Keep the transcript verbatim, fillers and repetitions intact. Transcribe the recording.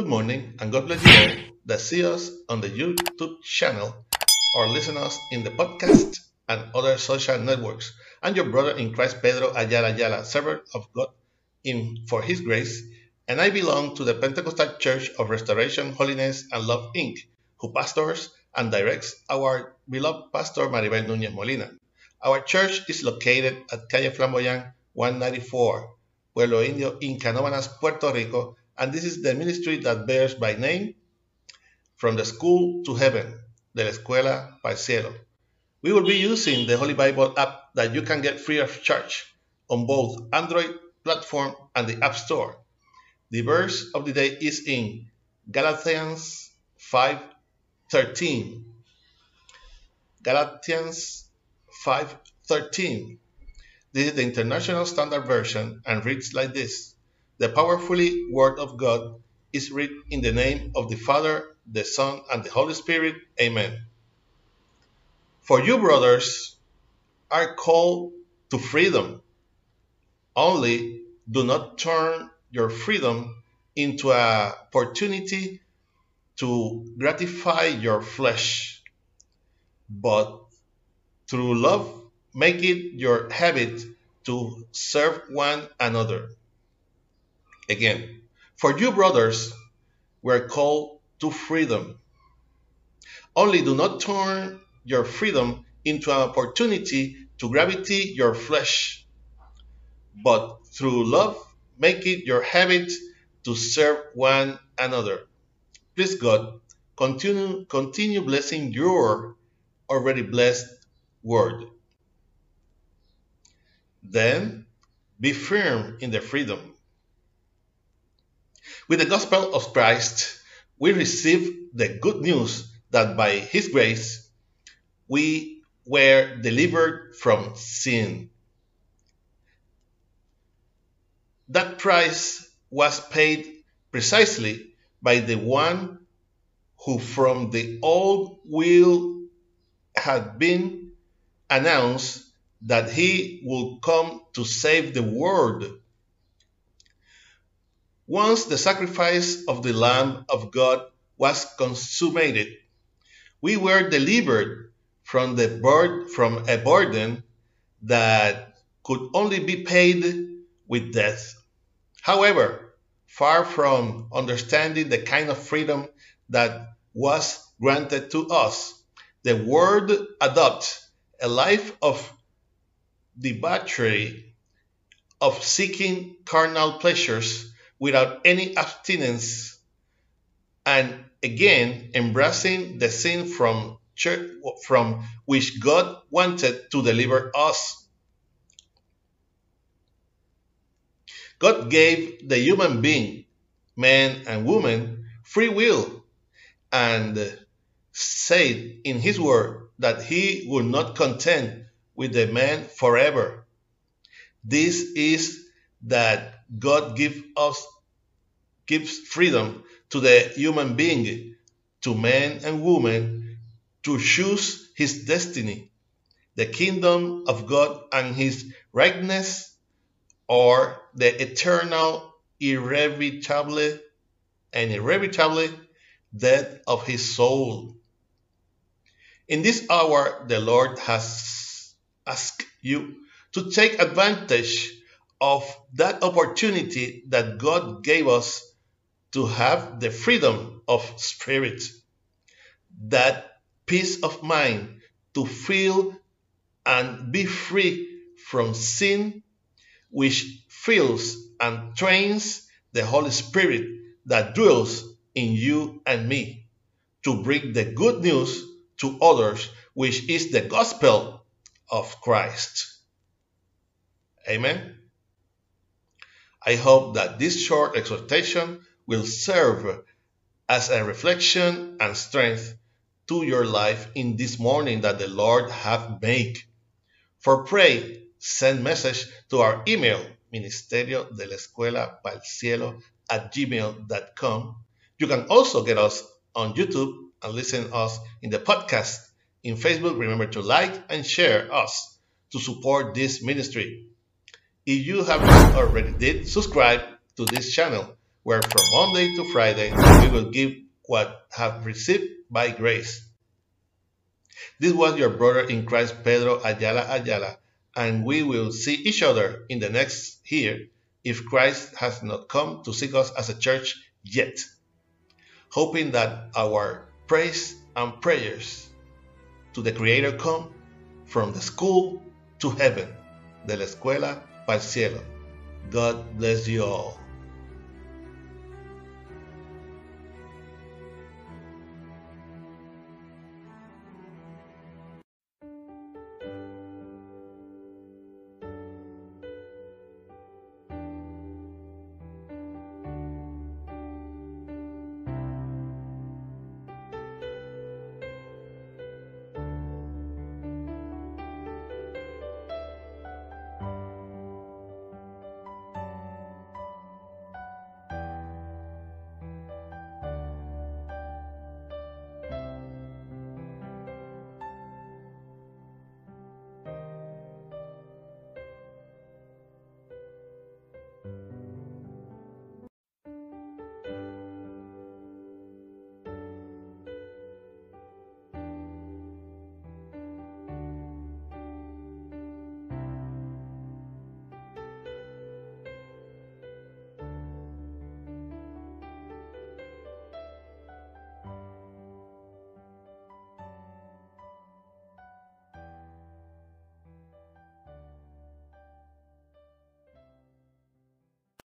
Good morning and God bless you all that see us on the YouTube channel or listen us in the podcast and other social networks. I'm your brother in Christ, Pedro Ayala Ayala, servant of God in for His grace, and I belong to the Pentecostal Church of Restoration, Holiness, and Love, Incorporated, who pastors and directs our beloved pastor Maribel Núñez Molina. Our church is located at Calle Flamboyant one ninety-four, Pueblo Indio, in Canóvanas, Puerto Rico, and this is the ministry that bears by name From the School to Heaven, de la Escuela para el Cielo. We will be using the Holy Bible app that you can get free of charge on both Android platform and the App Store. The verse of the day is in Galatians five thirteen. Galatians five thirteen. This is the International Standard Version and reads like this. The powerfully Word of God is read in the name of the Father, the Son, and the Holy Spirit. Amen. For you, brothers, are called to freedom. Only do not turn your freedom into an opportunity to gratify your flesh, but through love, make it your habit to serve one another. Again, for you, brothers, were called to freedom. Only do not turn your freedom into an opportunity to gratify your flesh, but through love, make it your habit to serve one another. Please God, continue, continue blessing your already blessed word. Then be firm in the freedom. With the gospel of Christ, we receive the good news that by His grace, we were delivered from sin. That price was paid precisely by the one who from the old will had been announced that He would come to save the world. Once the sacrifice of the Lamb of God was consummated, we were delivered from, the bur- from a burden that could only be paid with death. However, far from understanding the kind of freedom that was granted to us, the world adopts a life of debauchery, of seeking carnal pleasures without any abstinence, and again embracing the sin from, church, from which God wanted to deliver us. God gave the human being, man and woman, free will, and said in His word that He would not contend with the man forever. This is that God give us, gives freedom to the human being, to man and woman, to choose his destiny, the kingdom of God and His rightness, or the eternal, irrevocable, and irrevocable death of his soul. In this hour, the Lord has asked you to take advantage of that opportunity that God gave us to have the freedom of spirit, that peace of mind to feel and be free from sin, which fills and trains the Holy Spirit that dwells in you and me, to bring the good news to others, which is the gospel of Christ. Amen. I hope that this short exhortation will serve as a reflection and strength to your life in this morning that the Lord hath made. For pray, send message to our email, ministerio de la escuela para el cielo at gmail dot com. You can also get us on YouTube and listen to us in the podcast. In Facebook, remember to like and share us to support this ministry. If you have not already did, subscribe to this channel where from Monday to Friday we will give what have received by grace. This was your brother in Christ, Pedro Ayala Ayala, and we will see each other in the next year if Christ has not come to seek us as a church yet. Hoping that our praise and prayers to the Creator come from the school to heaven, de la escuela para el cielo. God bless you all.